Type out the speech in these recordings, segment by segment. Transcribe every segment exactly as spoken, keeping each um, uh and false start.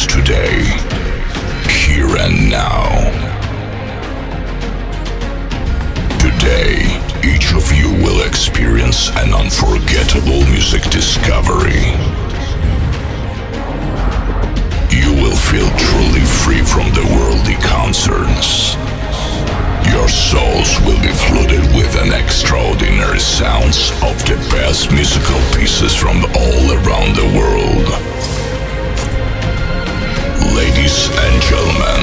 begins today, here and now. Today, each of you will experience an unforgettable music discovery. You will feel truly free from the worldly concerns. Your souls will be flooded with an extraordinary sounds of the best musical pieces from all around the world. Ladies and gentlemen,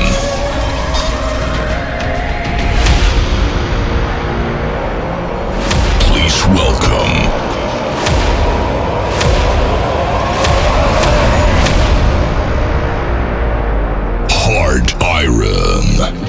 please welcome Hard Iron.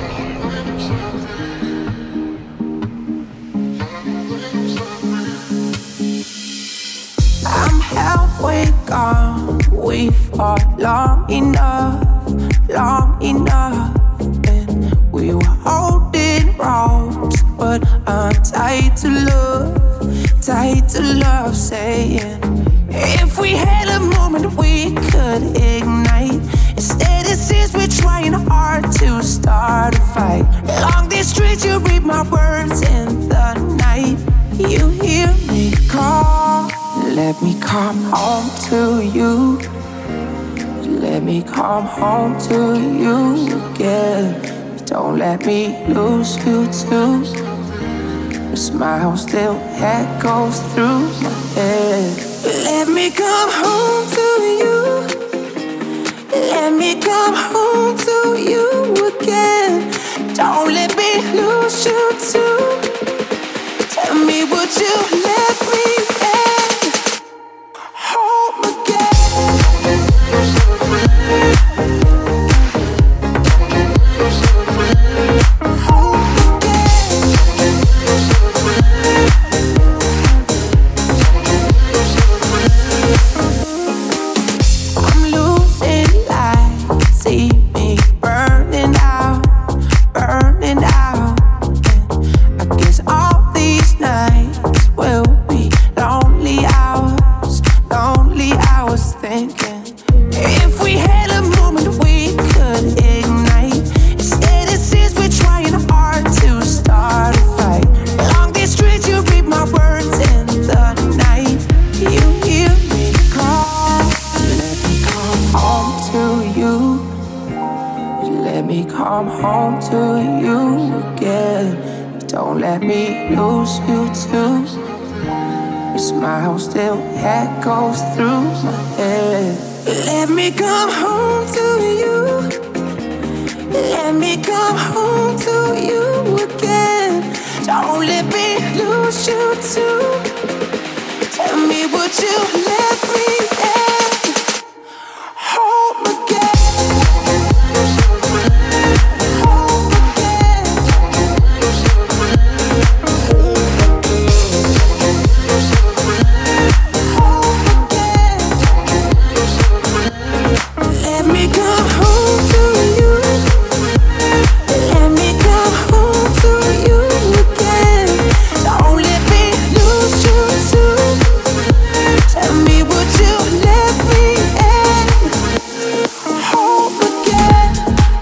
Gone. We fought long enough, long enough, and we were holding ropes, but I'm tied to love, tied to love, saying if we had a moment we could ignite. Instead it seems we're trying hard to start a fight. Along these streets you read my words in the night. You hear me call. Let me come home to you. Let me come home to you again. Don't let me lose you too. Your smile still echoes through my head. Let me come home to you. Let me come home to you again. Don't let me lose you too. Tell me, would you let me in? Still echoes through my head. Let me come home to you. Let me come home to you again. Don't let me lose you too. Tell me, would you let me in? Home again. Home again. Let me come home to you. Let me come home to you again. Don't let me lose you too. Tell me, would you let me in? Home again.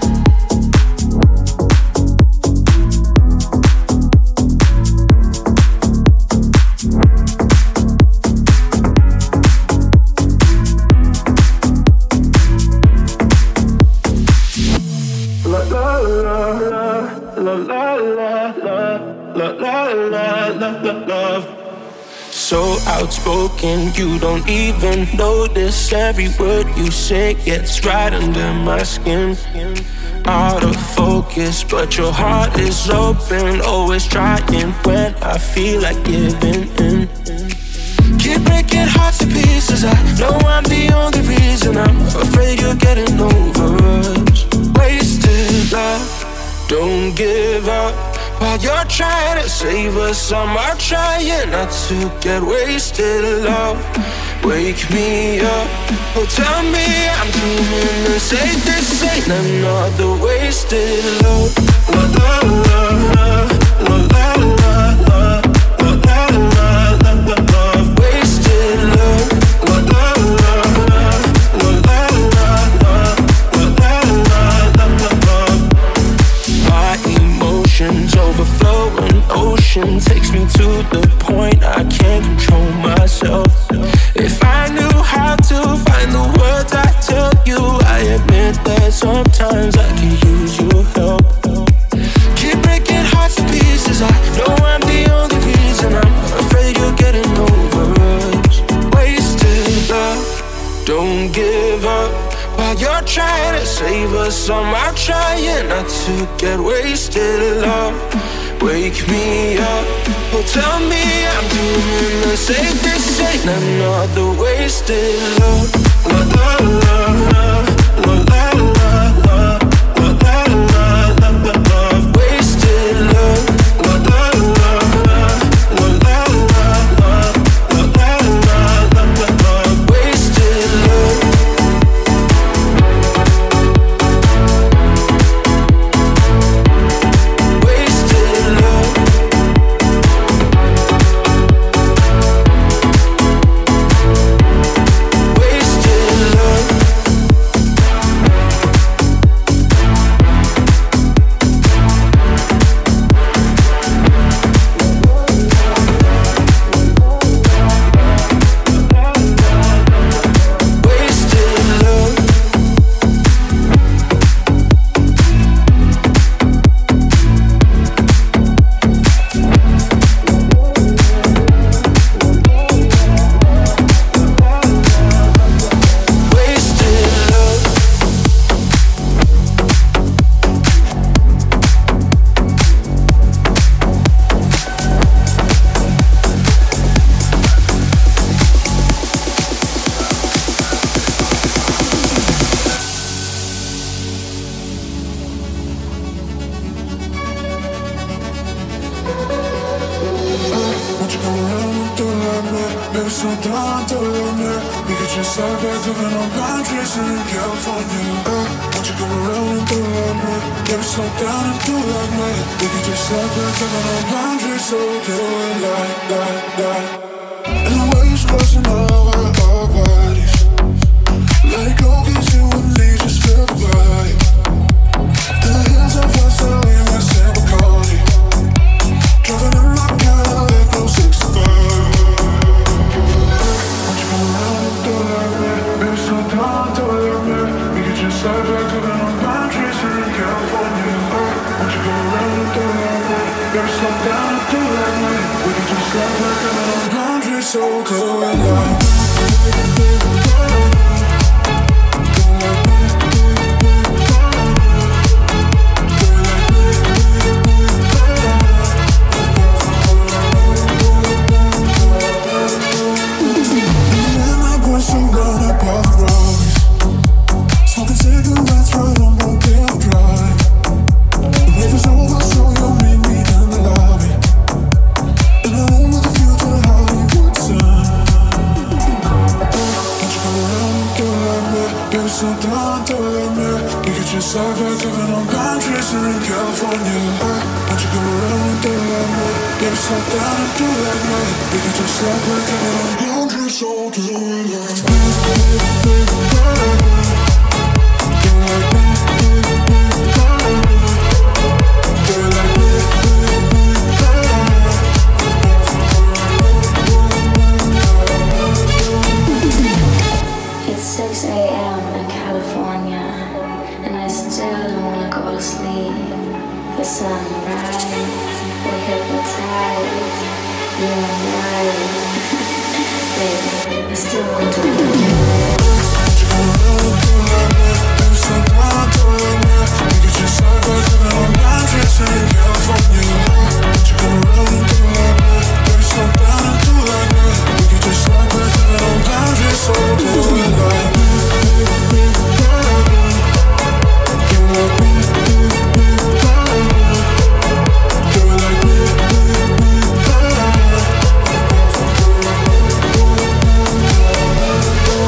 So outspoken, you don't even notice. Every word you say gets right under my skin. Out of focus, but your heart is open. Always trying when I feel like giving in. Keep breaking hearts to pieces. I know I'm the only reason. I'm afraid you're getting over us. Wasted love, don't give up. While you're trying to save us, I'm out trying not to get wasted. Love, wake me up. Oh, tell me I'm dreaming and say this ain't another wasted love. La la la la, la la la la, la la la la, love, wasted love. La la la la, la la la la. while you're trying to save us. I'm out trying not to get wasted, love. Wake me up, oh tell me I'm doing the safest. Ain't another wasted love. La la la la, la la la la, la la la la la. Wasted love. La la la la, la la la la, la la la la la. Wasted love. We'll be right back.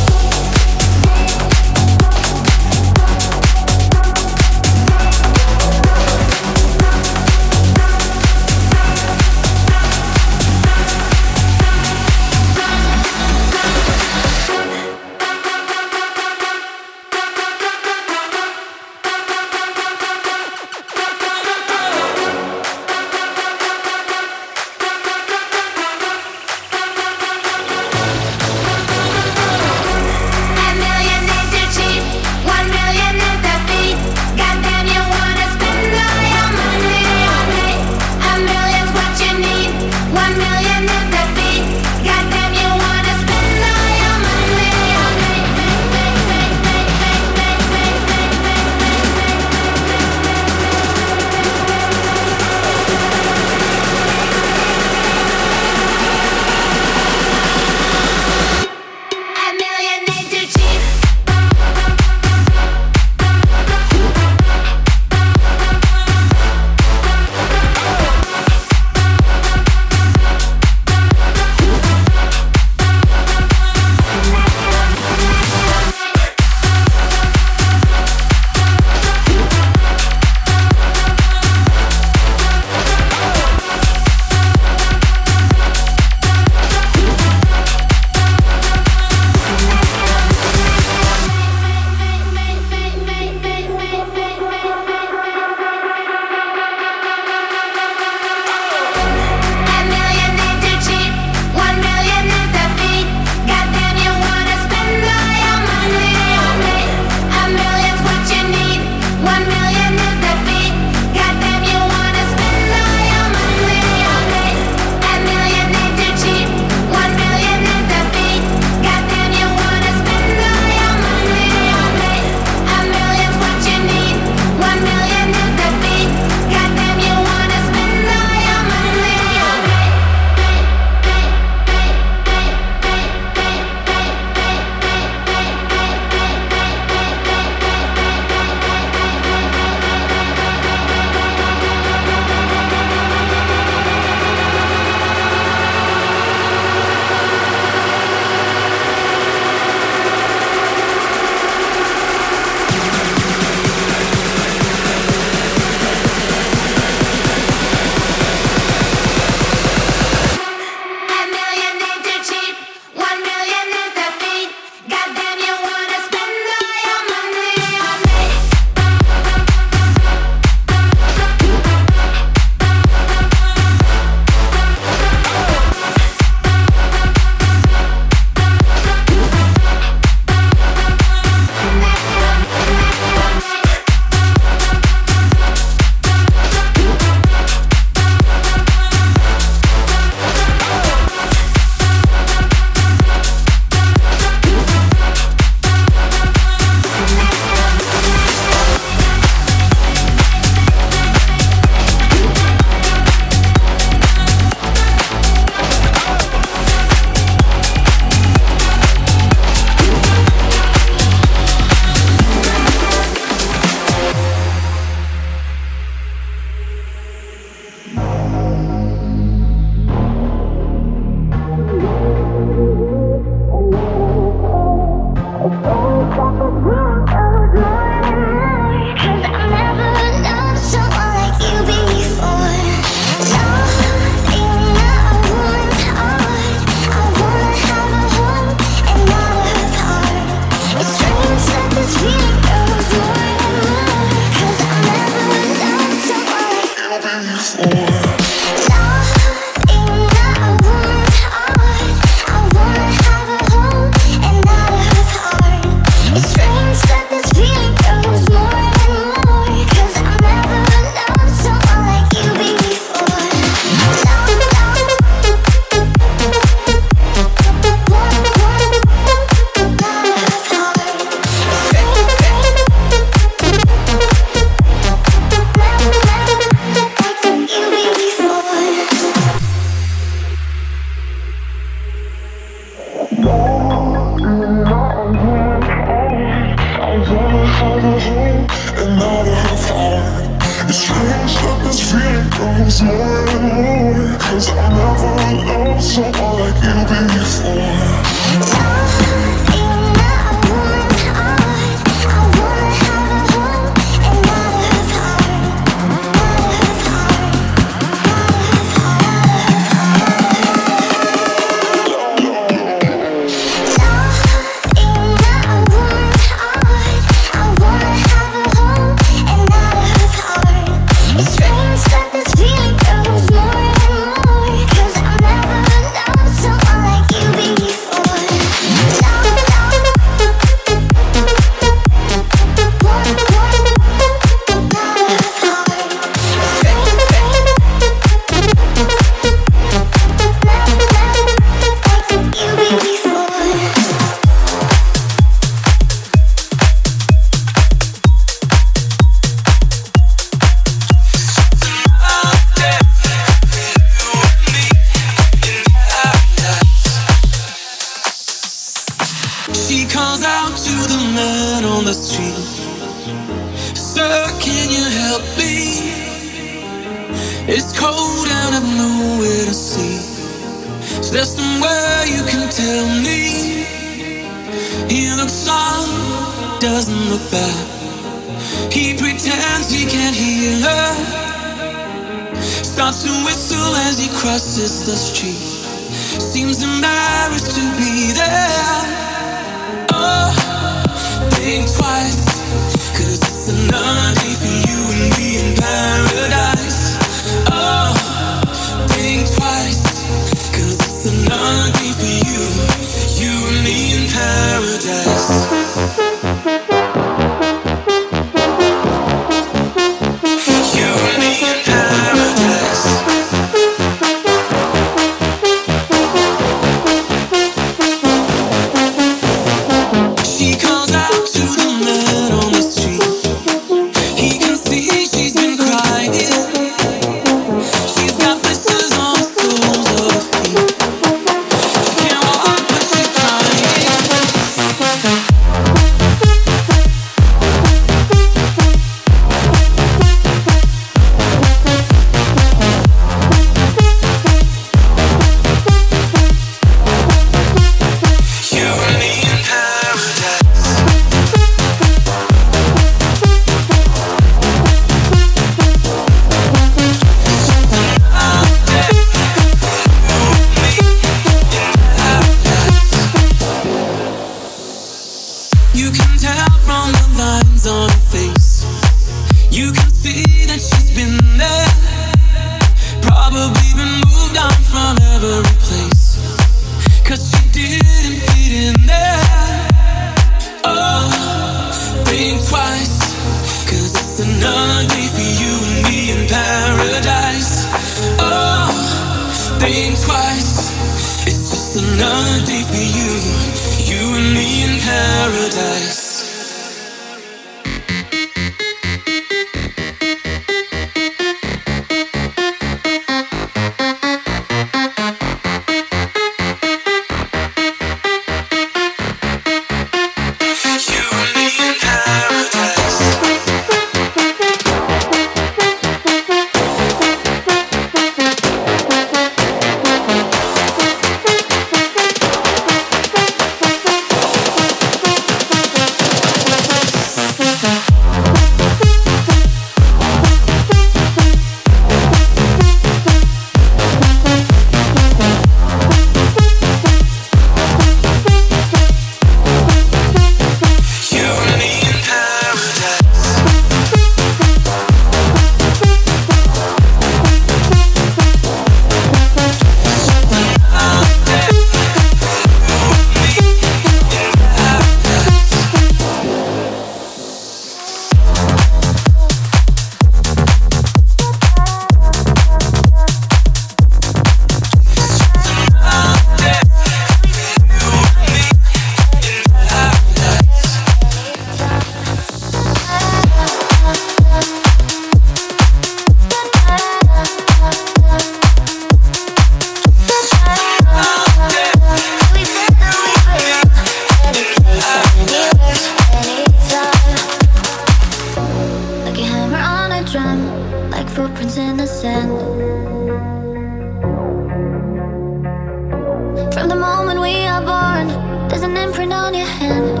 hand.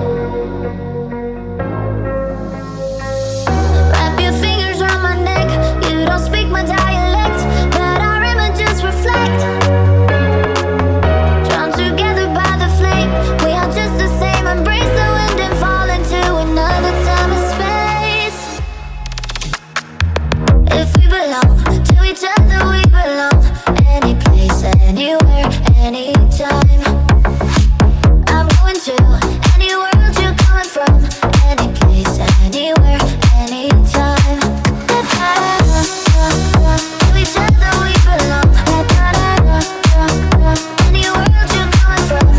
Wrap your fingers around my neck. You don't speak my dialect, but our images reflect. Drawn together by the flame, we are just the same. Embrace the wind and fall into another time and space. If we belong to each other, we belong. Any place, anywhere, anytime. I'm going to any world you're coming from. Any place, anywhere, anytime. To each other we belong. Any world you're coming from.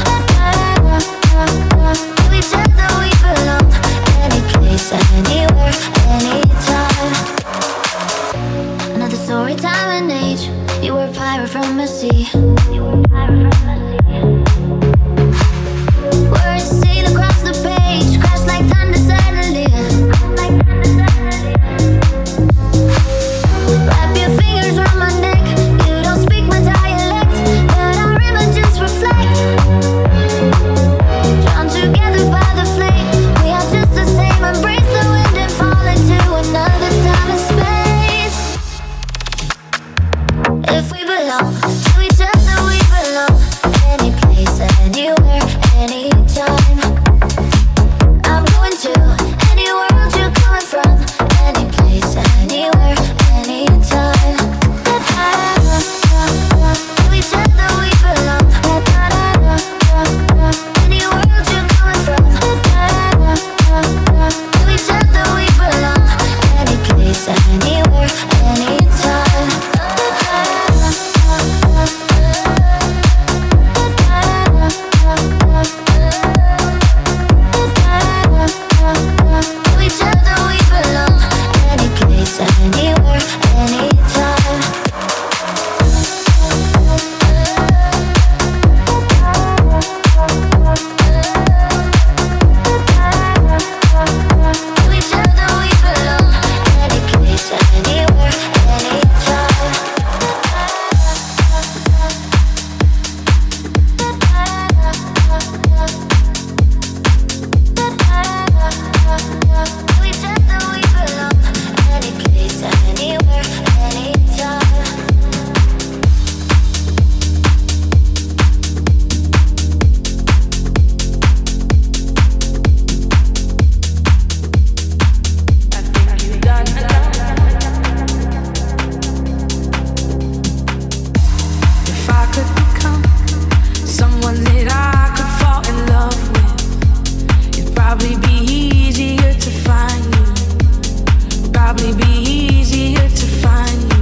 To each other we belong. Any place, anywhere, anytime. Another story, time and age. You were a pirate from the sea. You were a pirate from the sea. Words sail across the page, crash like thunder suddenly. Like thunder suddenly. Wrap your fingers around my neck. You don't speak my dialect, but our images reflect. Drawn together by the flame, we are just the same. Embrace the wind and fall into another time and space. If we belong to each other, we belong. Any place, anywhere, anytime. I'm going to any world you're coming from. Any place, anywhere, anytime. To each other we belong. Any world you're coming from. To each other we belong. Any place, anywhere, anytime. To each other we belong. Any place, anywhere, anytime. To each other we belong. Any place, anywhere, anytime. To each other we belong. Any place, anywhere, anytime. If I could become someone that I could fall in love with, it'd probably be easier to find you. Probably be easier to find you.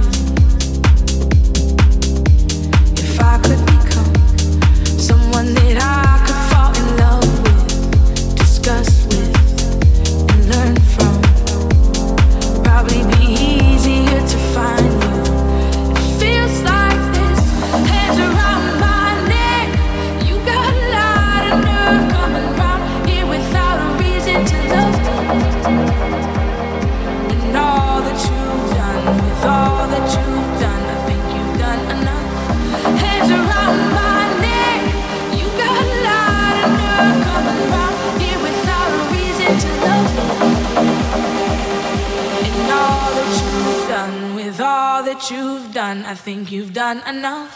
If I could become someone that I could fall in love with, discuss with, and learn from, probably be easier to find you. It feels like this, hands around my neck. You got a lot of nerve coming round here without a reason to love me. And all that you've done, with all that you've done, I think you've done enough. Hands around my neck. You got a lot of nerve coming round here without a reason to love me. And all that you've done, with all that you've done, I think you've done enough.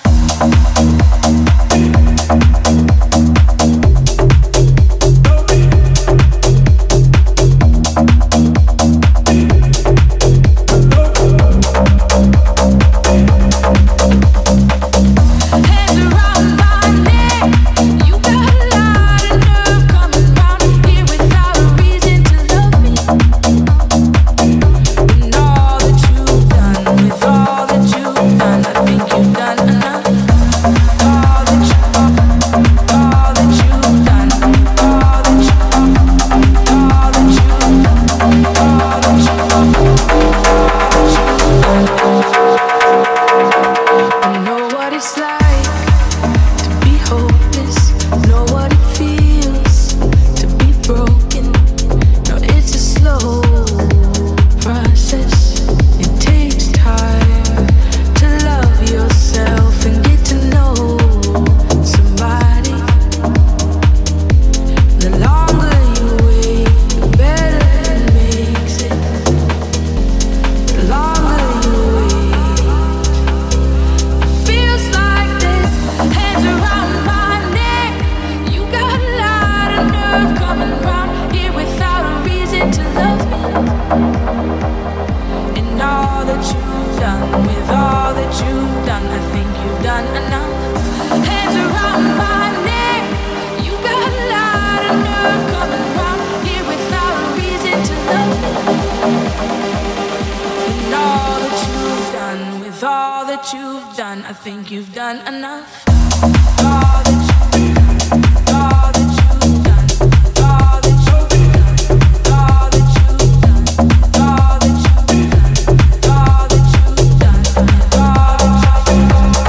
Hands around my neck. You got a lot of nerve coming round here without a reason to love me. And all that you've done, with all that you've done, I think you've done enough. I think you've done enough. All that you do, all that you've done, all that you've done, all that you've done, all that you've done, all that you've done, all that you've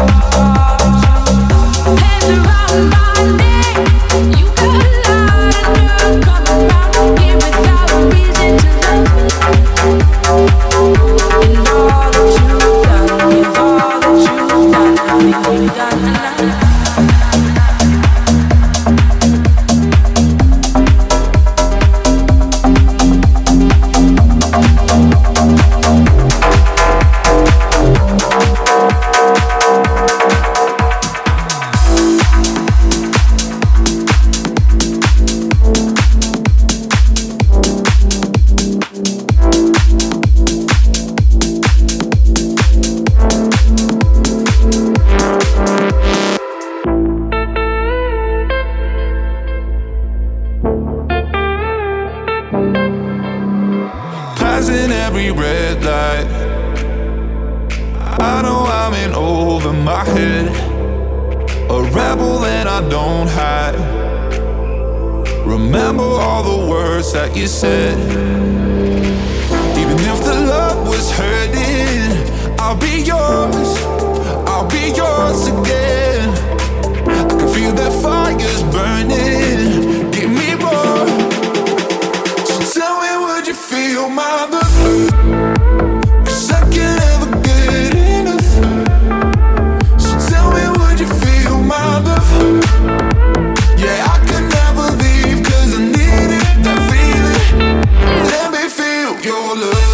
done. Hands around my neck, you got a lot of nerve coming round here without a reason to love me. And all that you've done, with all that you've done, I think we've done enough. That you said, even if the love was hurting, I'll be yours, I'll be yours again. I can feel that fire's burning, give me more. So tell me, would you feel my love? 'Cause I can't ever get enough. So tell me, would you feel my love? Yeah, I could never leave 'cause I need it, that feeling. Let me feel your love.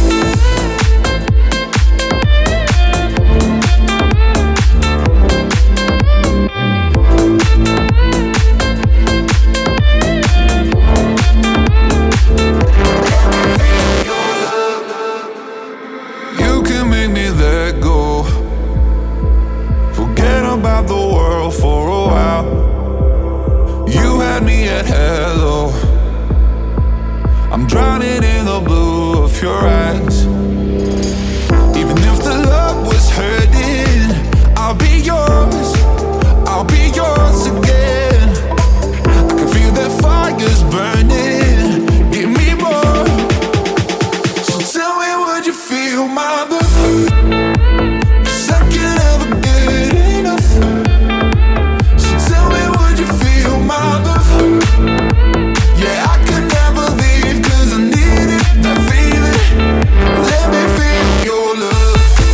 You can make me let go, forget about the world for a while. You had me at hello, I'm drowning in the blue of your eyes. Even if the love was hurting, I'll be yours, I'll be yours again. I can feel that fire's burning, give me more. So tell me, would you feel my love? 'Cause I can't ever get enough. So tell me, would you feel my love? Yeah, I could never leave 'cause I need it, that feeling. Let me feel your love.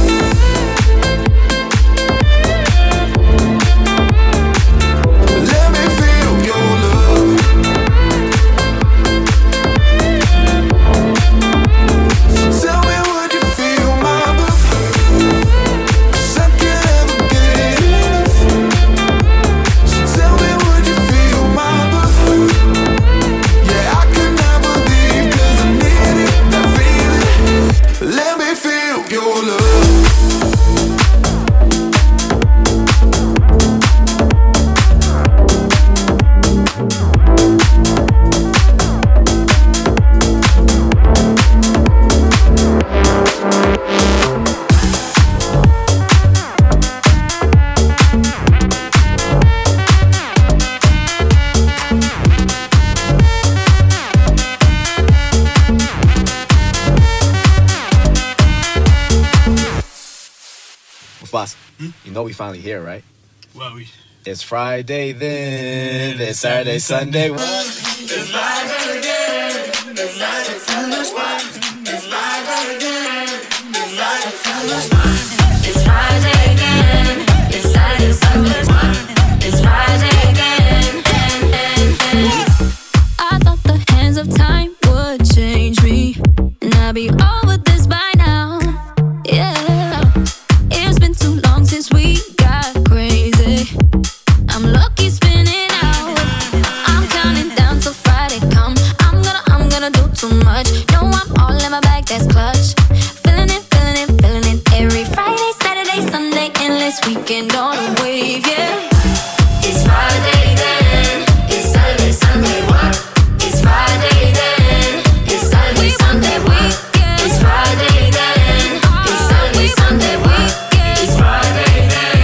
Let me feel your love. So tell me, would you feel my love? 'Cause I can't ever get enough. So tell me, would you feel my love? Yeah, I could never leave 'cause I need it, that feeling. Let me feel your love. Boss, hmm? You know we finally here, right? Well, we... It's Friday then, it's Saturday, Sunday. What? It's Friday again, it's Friday, Sunday. It's Friday again, it's Friday, Sunday. It's Friday again, it's Saturday, Sunday. It's Friday again, and, and, and. I thought the hands of time would change me, and I'd be over this by now. Yeah, it's been too long since we got crazy. I'm lucky spinning out. I'm counting down till Friday come. I'm gonna, I'm gonna do too much. No, I'm all in my bag, that's clutch. Feeling it, feeling it, feeling it. Every Friday, Saturday, Sunday, endless weekend on a wave, yeah. It's Friday then, it's Saturday, Sunday. What? It's Friday then, it's Saturday, Sunday. What? It's Friday then, it's Saturday, Sunday. What? It's Friday then.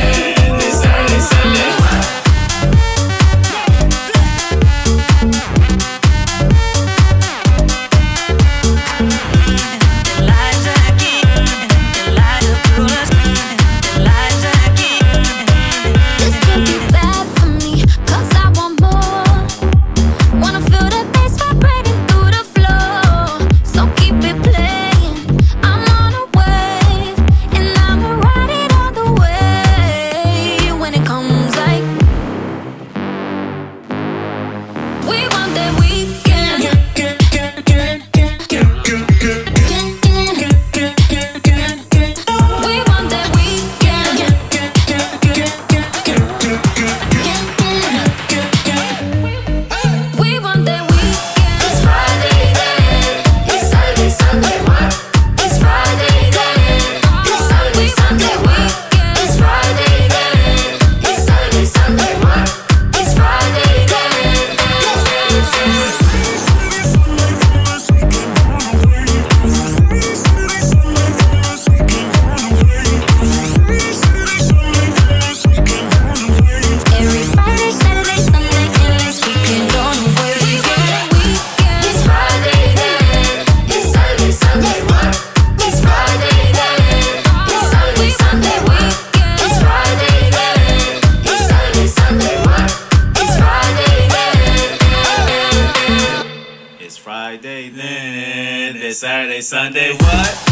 It's Friday then. It's Saturday, Sunday. What?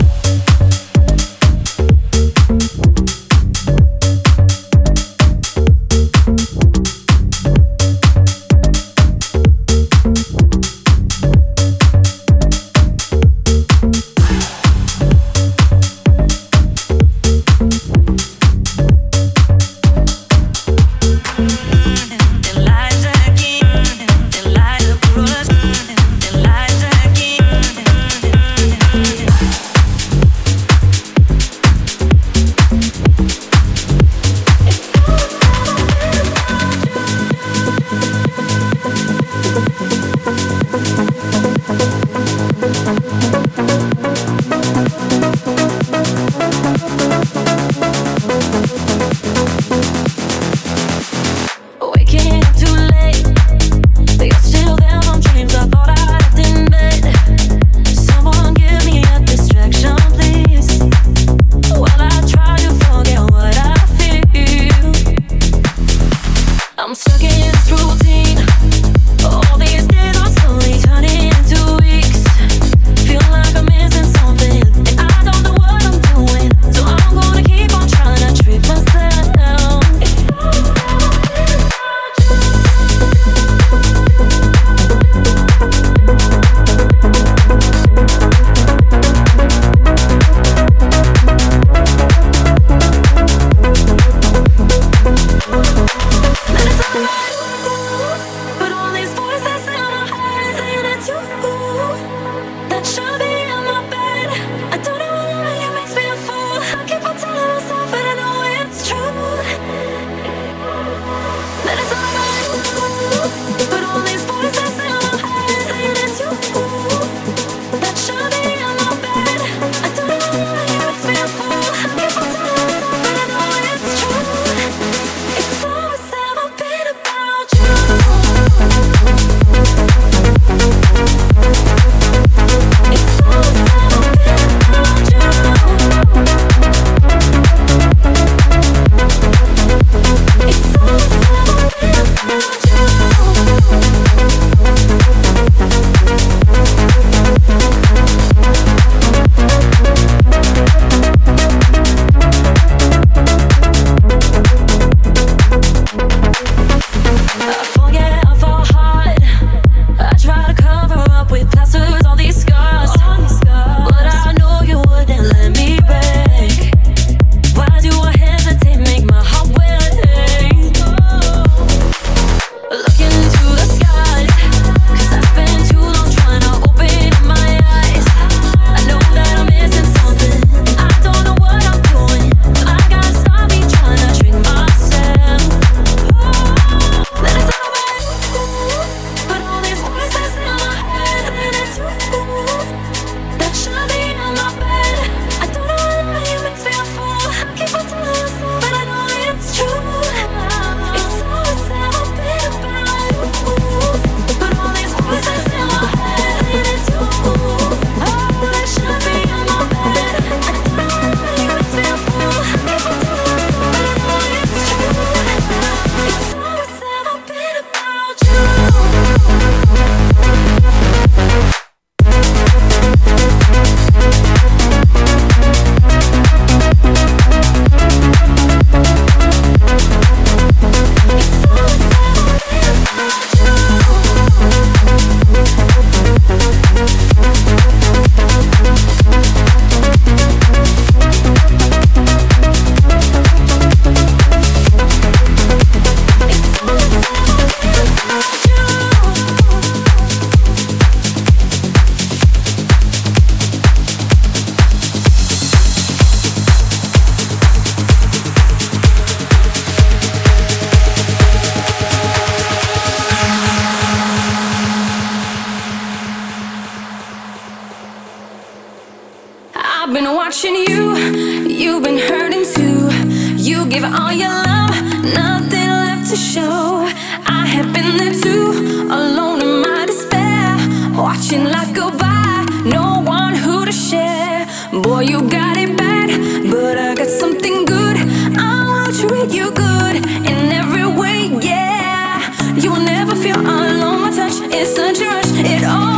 I've been watching you, you've been hurting too. You give all your love, nothing left to show. I have been there too, alone in my despair, watching life go by, no one who to share. Boy, you got it bad, but I got something good. I will treat you good in every way, yeah. You will never feel alone, my touch is such a rush, it all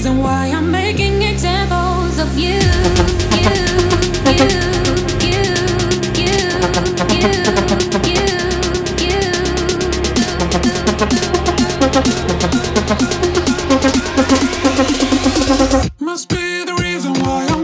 reason why I'm making examples of you. You, you, you, you, you, you, you. Must be the reason why I'm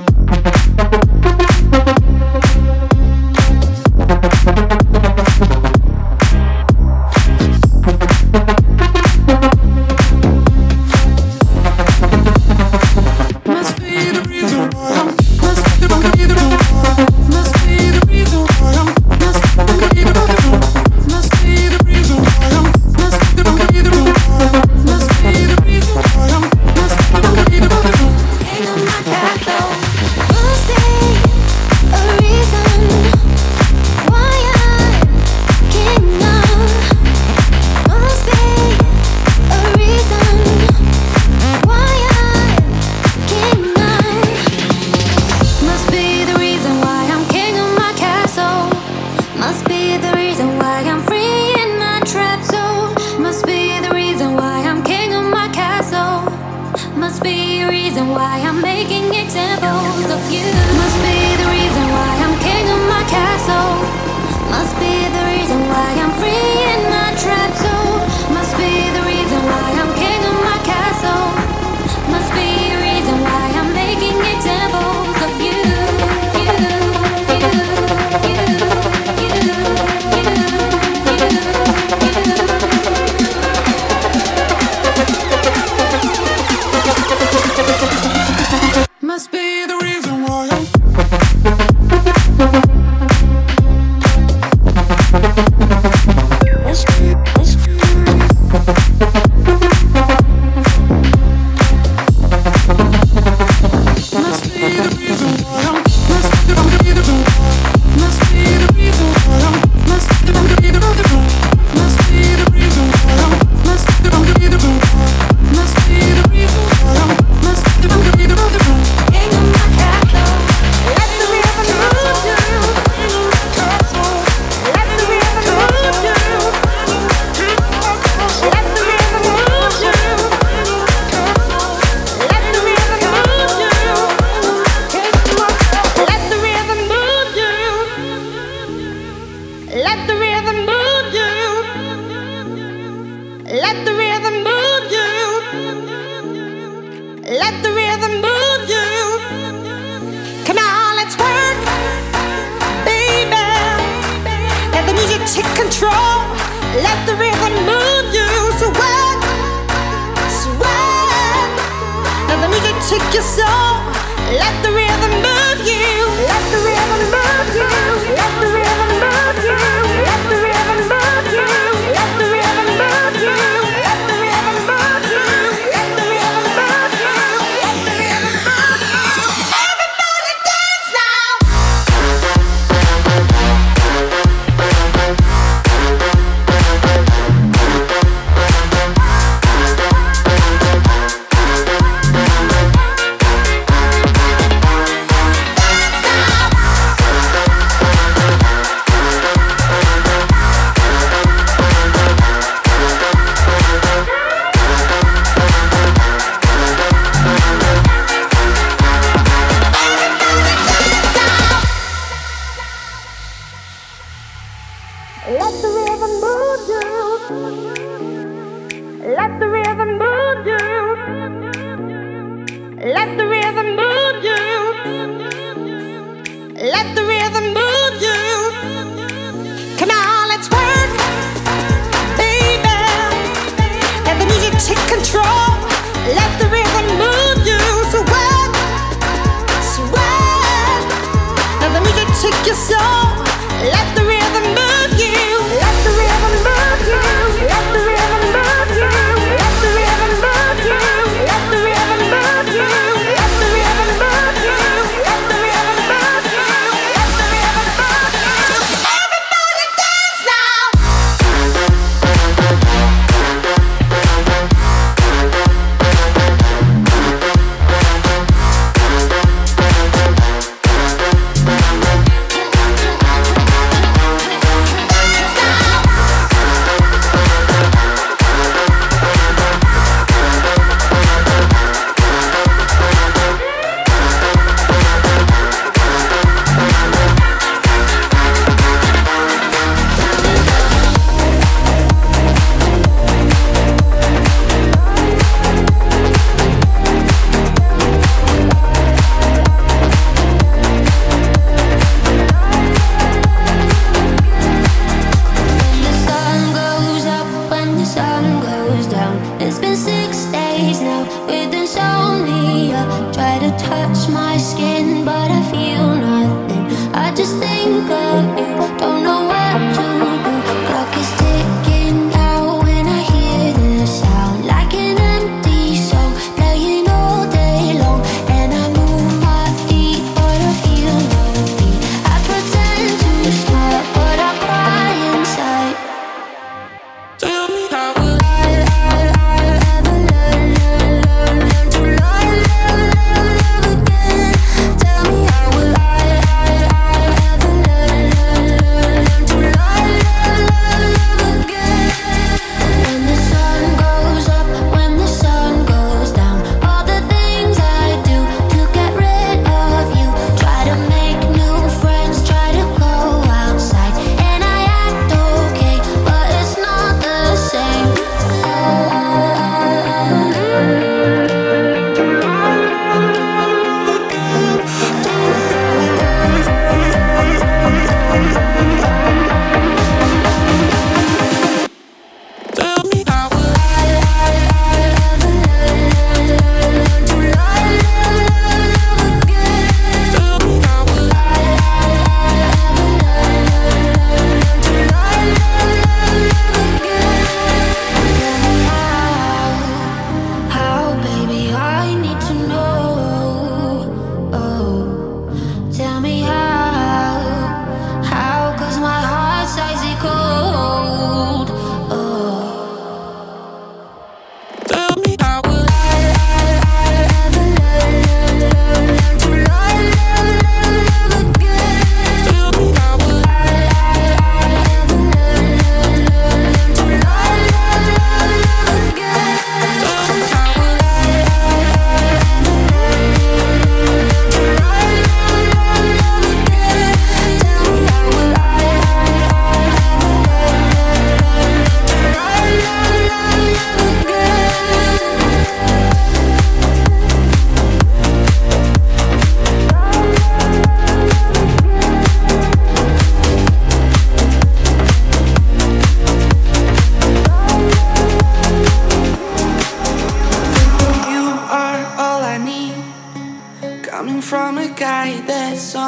Take your soul, let the rhythm move you. Let the rhythm move you.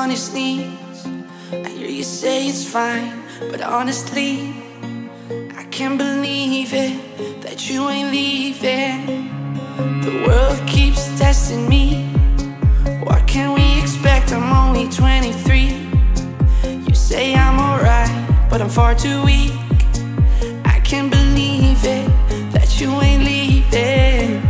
on his knees. I hear you say it's fine, but honestly, I can't believe it, that you ain't leaving. The world keeps testing me. What can we expect? I'm only twenty-three. You say I'm alright, but I'm far too weak. I can't believe it, that you ain't leaving.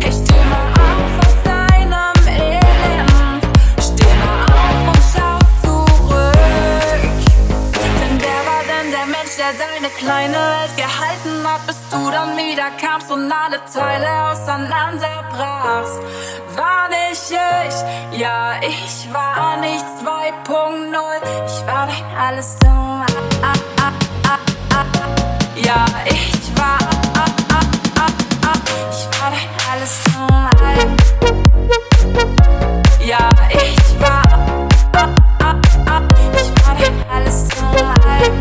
Steh mal auf und schau zu meine Welt gehalten hab, bis du dann wieder kamst und alle Teile auseinanderbrachst. War nicht ich, ja, ich war nicht zwei Punkt null. Ich war dein alles im ah, ah, ah, ah, ah. Ja, ich war ah, ah, ah, ah. Ich war dein alles im ein. Ja, ich war ah, ah, ah. Ich war dein alles im ein.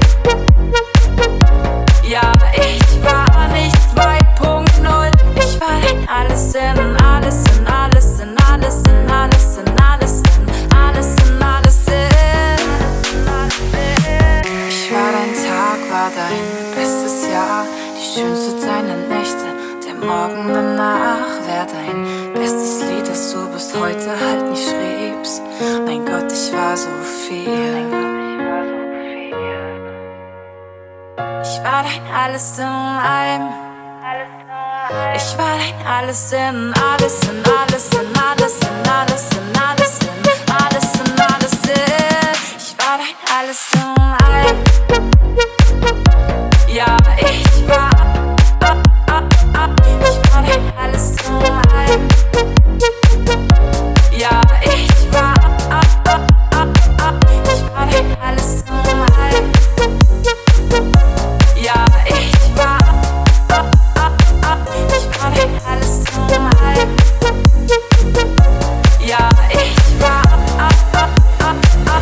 Ja, ich war nicht zwei Punkt null. Ich war dein alles in alles in alles in alles in alles in alles in alles in alles in. Ich war dein Tag, war dein bestes Jahr, die schönste deiner Nächte, der Morgen danach wär dein bestes Lied, das du bis heute halt nicht schriebst. Mein Gott, ich war so viel. Ich war dein alles in einem. Ich war dein alles in alles in alles in alles in alles in alles in alles in alles in. Ich war dein alles in einem. Ja, ich war ah, ah, ah. Ich war dein alles in einem. Ja, ich war ah, ah, ah, ah. Ich war dein alles in einem. Ja, ich war ah, ah, ah. Ich war dein alles im ein. Ja, ich war ah, ah, ah, ah.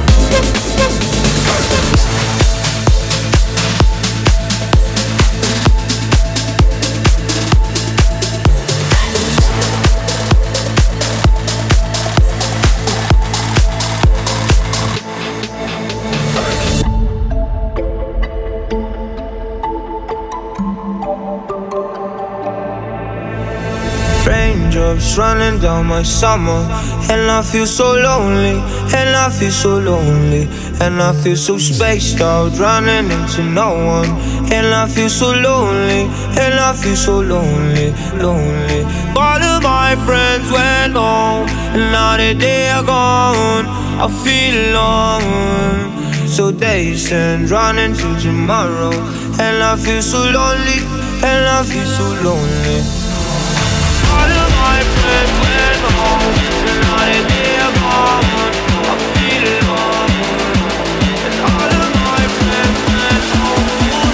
Raindrops running down my summer, and I feel so lonely, and I feel so lonely, and I feel so spaced out, running into no one, and I feel so lonely, and I feel so lonely, lonely. All of my friends went home, and now that they are gone, I feel alone. So days and running to tomorrow, and I feel so lonely, and I feel so lonely. All of my friends went home, and now that they are gone, I feel alone. And all of my friends went home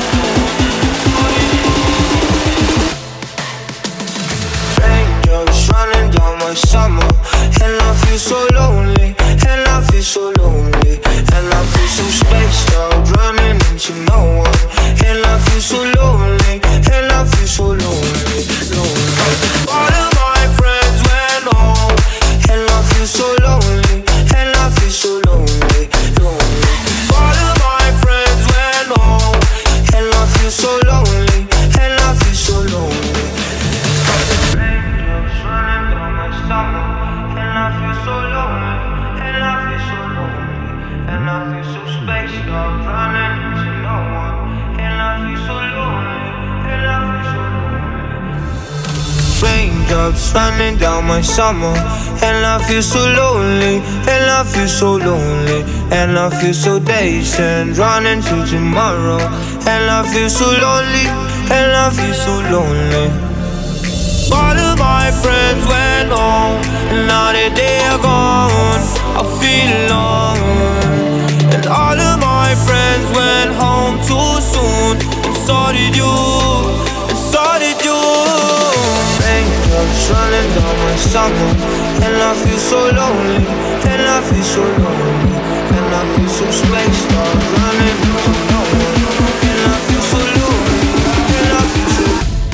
too soon. Raindrops running down my summer, and I feel so lonely, and I feel so lonely, and I feel so spaced out, running into no one, and I feel so lonely, and I feel so lonely, lonely. All of my friends went home, and I feel so lonely, and I feel so lonely, lonely. All of my friends went home, and I feel so lonely, and I feel so lonely. Raindrops running down my summer, and I feel so lonely, and I feel so lonely, and I feel so spaced out, running into no one, and I feel so lonely, and I feel so lonely. Raindrops running down my summer, and I feel so lonely, and I feel so lonely, and I feel so dazed and running to tomorrow, and I feel so lonely, and I feel so lonely. All of my friends went home, and now that they are gone, I feel alone. And all of my friends went home too soon, and so did you, and so did you. Raindrops running down my summer, and I feel so lonely, and I feel so lonely, and I feel so spaced out, running into no one, and I feel so lonely, and I feel so.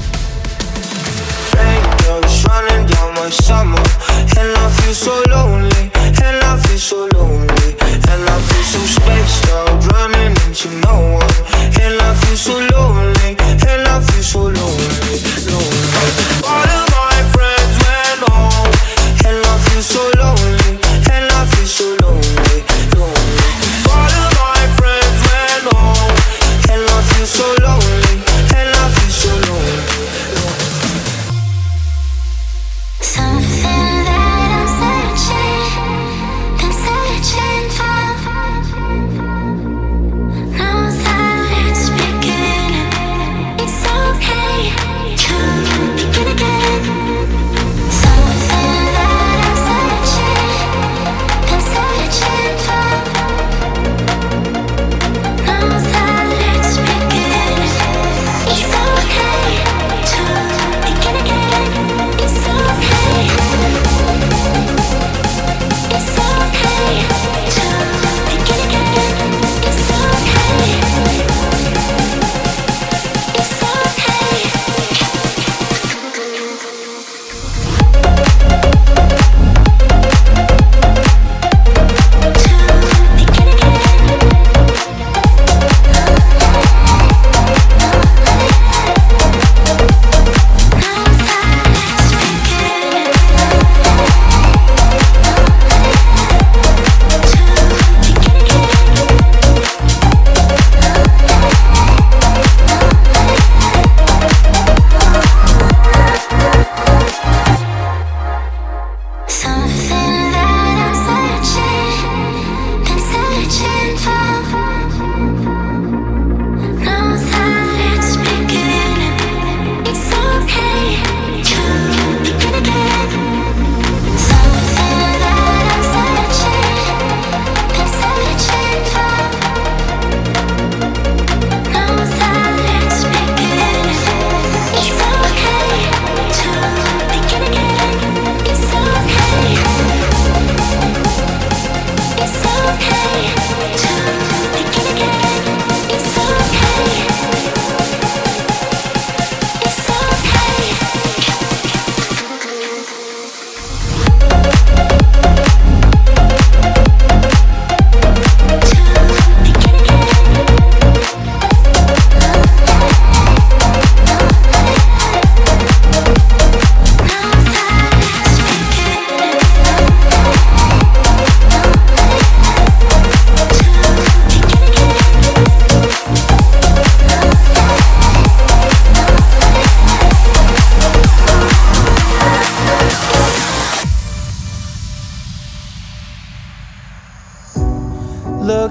Raindrops running down my summer, and I feel so lonely, and I feel so lonely, and I feel so spaced out, running into no one, and I feel so lonely, and I feel so lonely, lonely. All of my friends went home, and I feel so lonely, and I feel so lonely, lonely. All of my friends went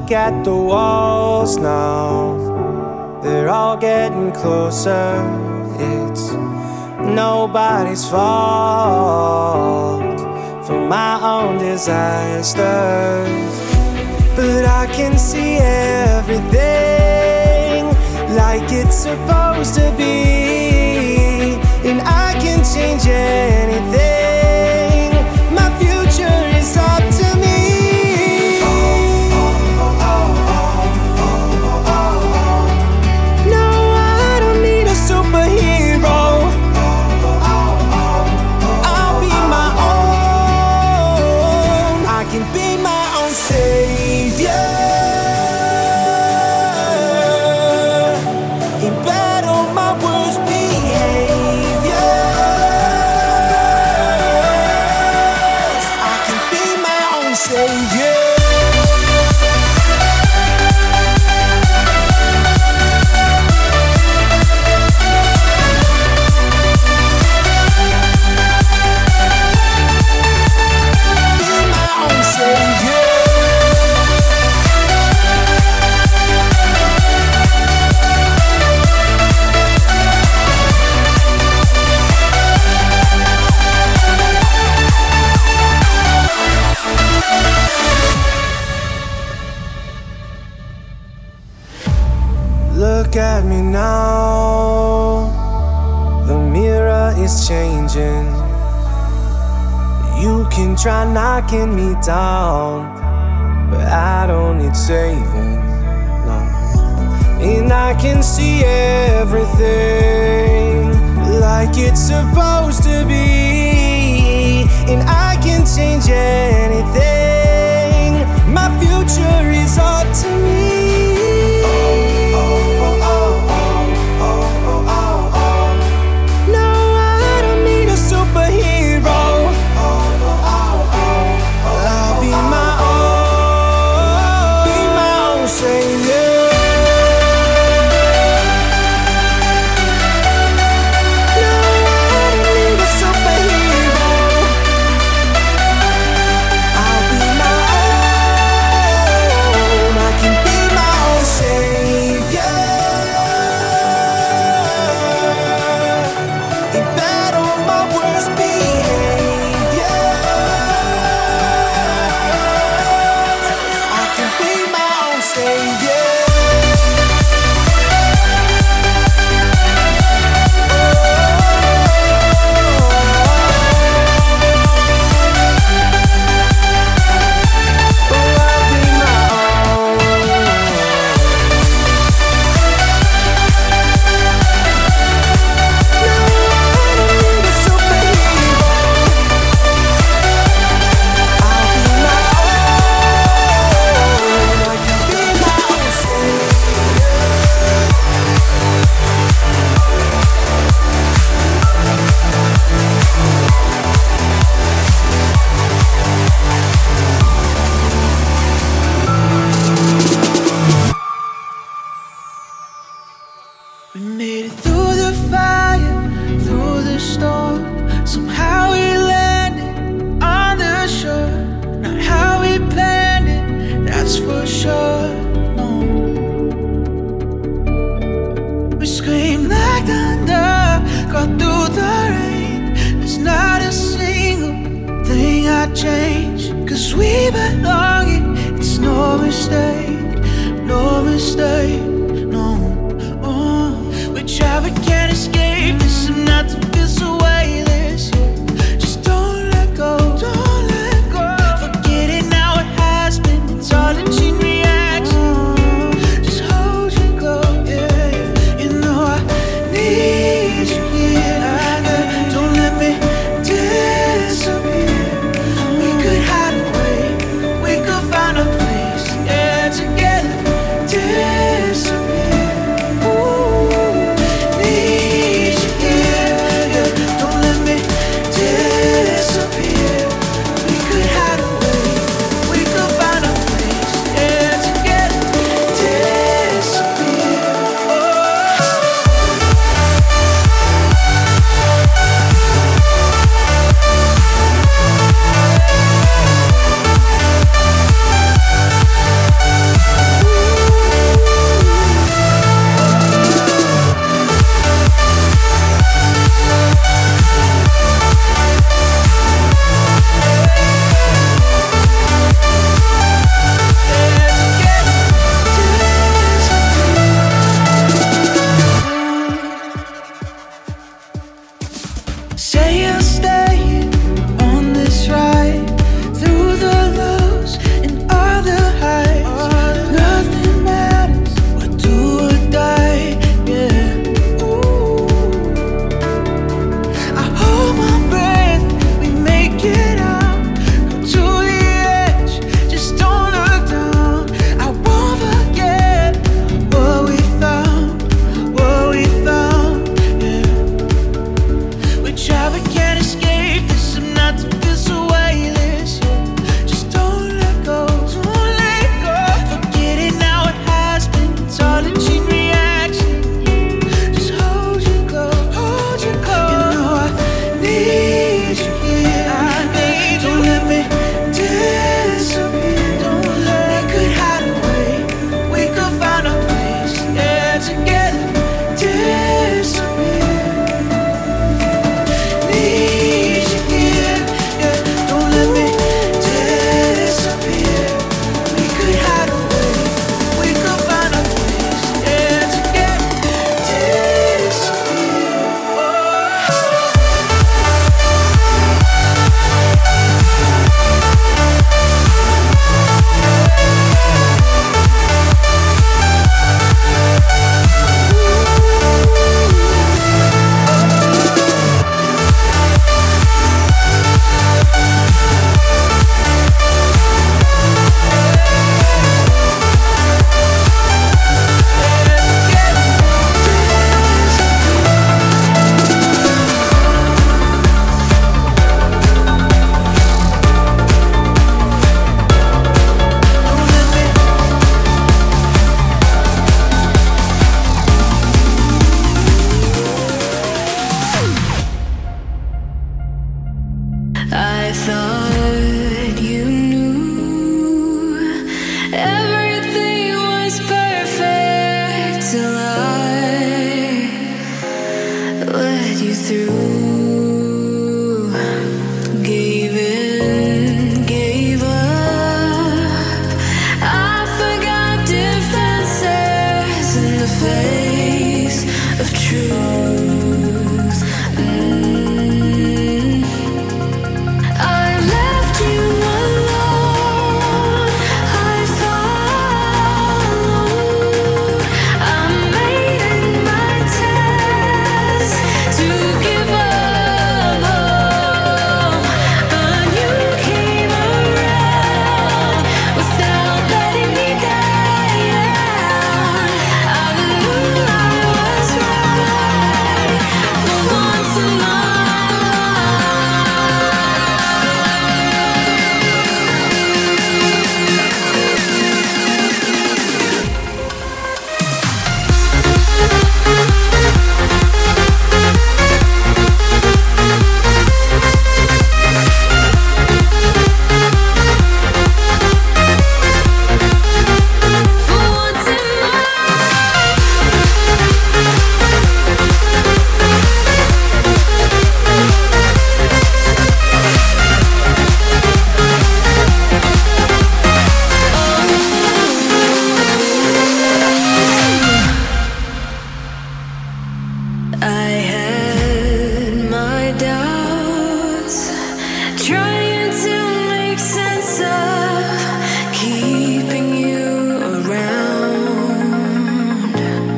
Look at the walls now, they're all getting closer. It's nobody's fault for my own disasters, but I can see everything like it's supposed to be, and I can change anything. My future is up to me. No, I don't need a superhero. I'll be my own. I can be my own savior. In battle, my worst behaviors. I can be my own savior. Look at me now, the mirror is changing. You can try knocking me down, but I don't need saving, no. And I can see everything like it's supposed to be, and I can change anything. My future is up to me. say I'll stay on this ride through the lows and all the highs. Nothing matters, what do or die, yeah. Ooh. I hold my breath, we make it out, go to the edge, just don't look down. I won't forget what we found, what we found, yeah. We try but can't escape this, I'm not to feel so weightless, yeah. Just don't let go, don't let go. Forget it now, it has been, it's all a chain reaction. Just hold you close, hold you close. You know I need you here, I need you. Don't let me disappear, don't let me. We could hide away, we could find a place, yeah, together. Disappear, need you here, yeah. Don't let me disappear. We could hide away, we could find a place, yeah, together. Disappear. I thought you knew everything was perfect till I let you through. Gave in, gave up. I forgot defenses in the face of truth. Mm. I left you alone. I followed. I made it my task to give up, but you came around without letting me down. I knew I was right for once in my I had my doubts, trying to make sense of keeping you around,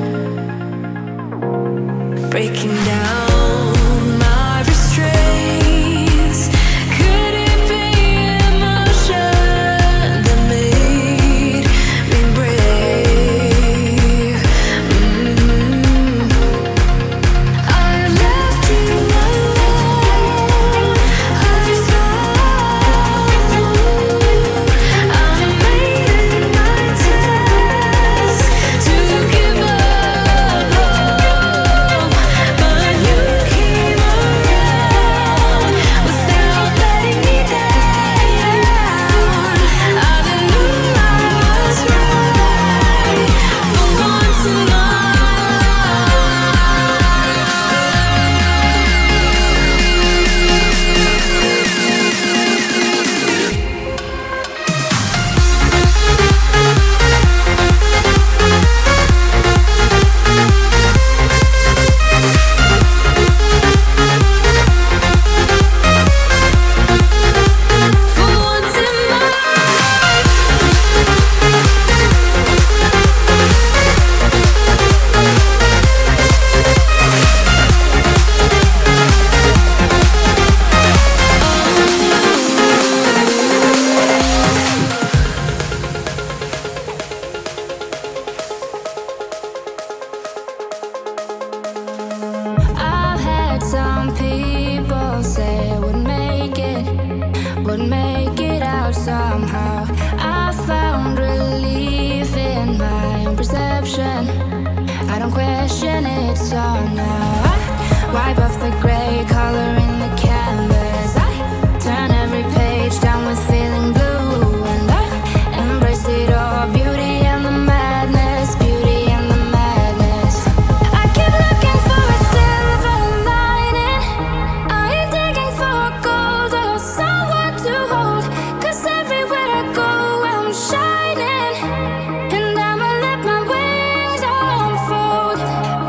breaking down my restraints. Could it be emotion that made me brave? Mm. I left you alone. I thought I made it my task to give up, but you people say I wouldn't make it, wouldn't make it out somehow. I found relief in my own perception. I don't question it, so now I wipe off the gray color in the canvas. I turn every page down with feeling blue, and I embrace it all, beauty and the madness, beauty and the madness. I keep looking for a silver lining. I ain't digging for gold or someone to hold, 'cause everywhere I go I'm shining, and I'ma let my wings unfold.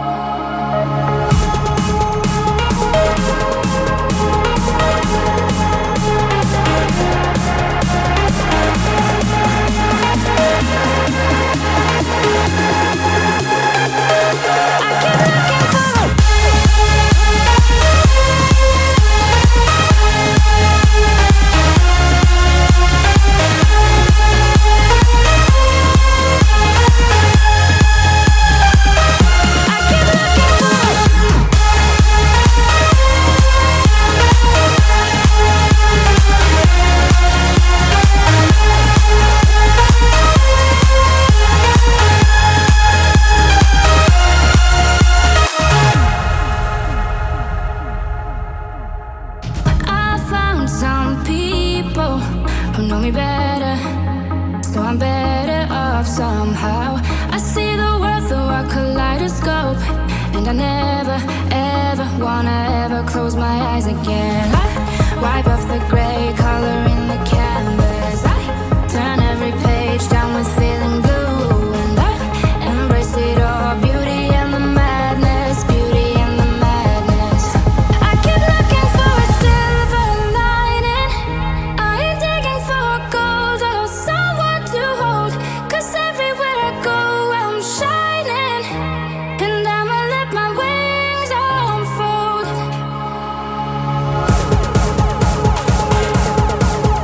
I found some people who know me better, so I'm better off somehow. I see the world through a kaleidoscope, and I never, ever wanna ever close my eyes again. I wipe off the gray color in the canvas. I turn every page down with feeling blue, and I embrace it all, beauty and the madness, beauty and the madness. I keep looking for a silver lining. I ain't digging for gold or someone to hold, 'cause everywhere I go I'm shining, and I'ma let my wings unfold.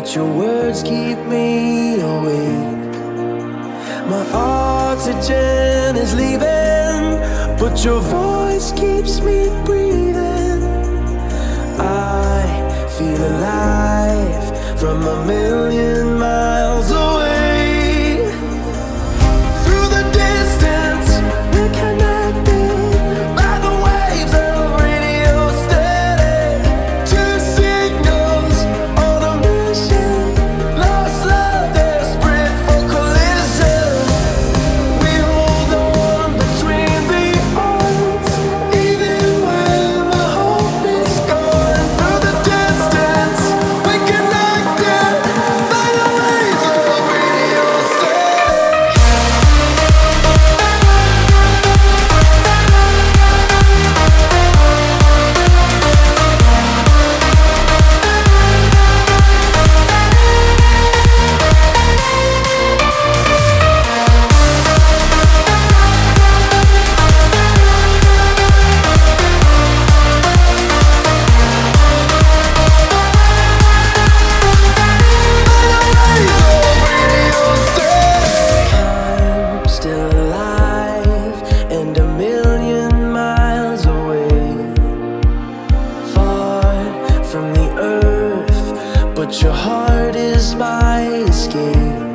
but your words keep me awake. My oxygen is leaving, but your voice keeps me breathing. I feel alive from a million miles away. Through the distance, we're connected by the waves of radio static. Two signals on a mission, lost love, desperate for collision. We hold on between the odds, even when the hope is gone. Through the distance, we're connected by the waves of radio static. I'm still alive and a million miles away, far from the earth, but your heart is my escape.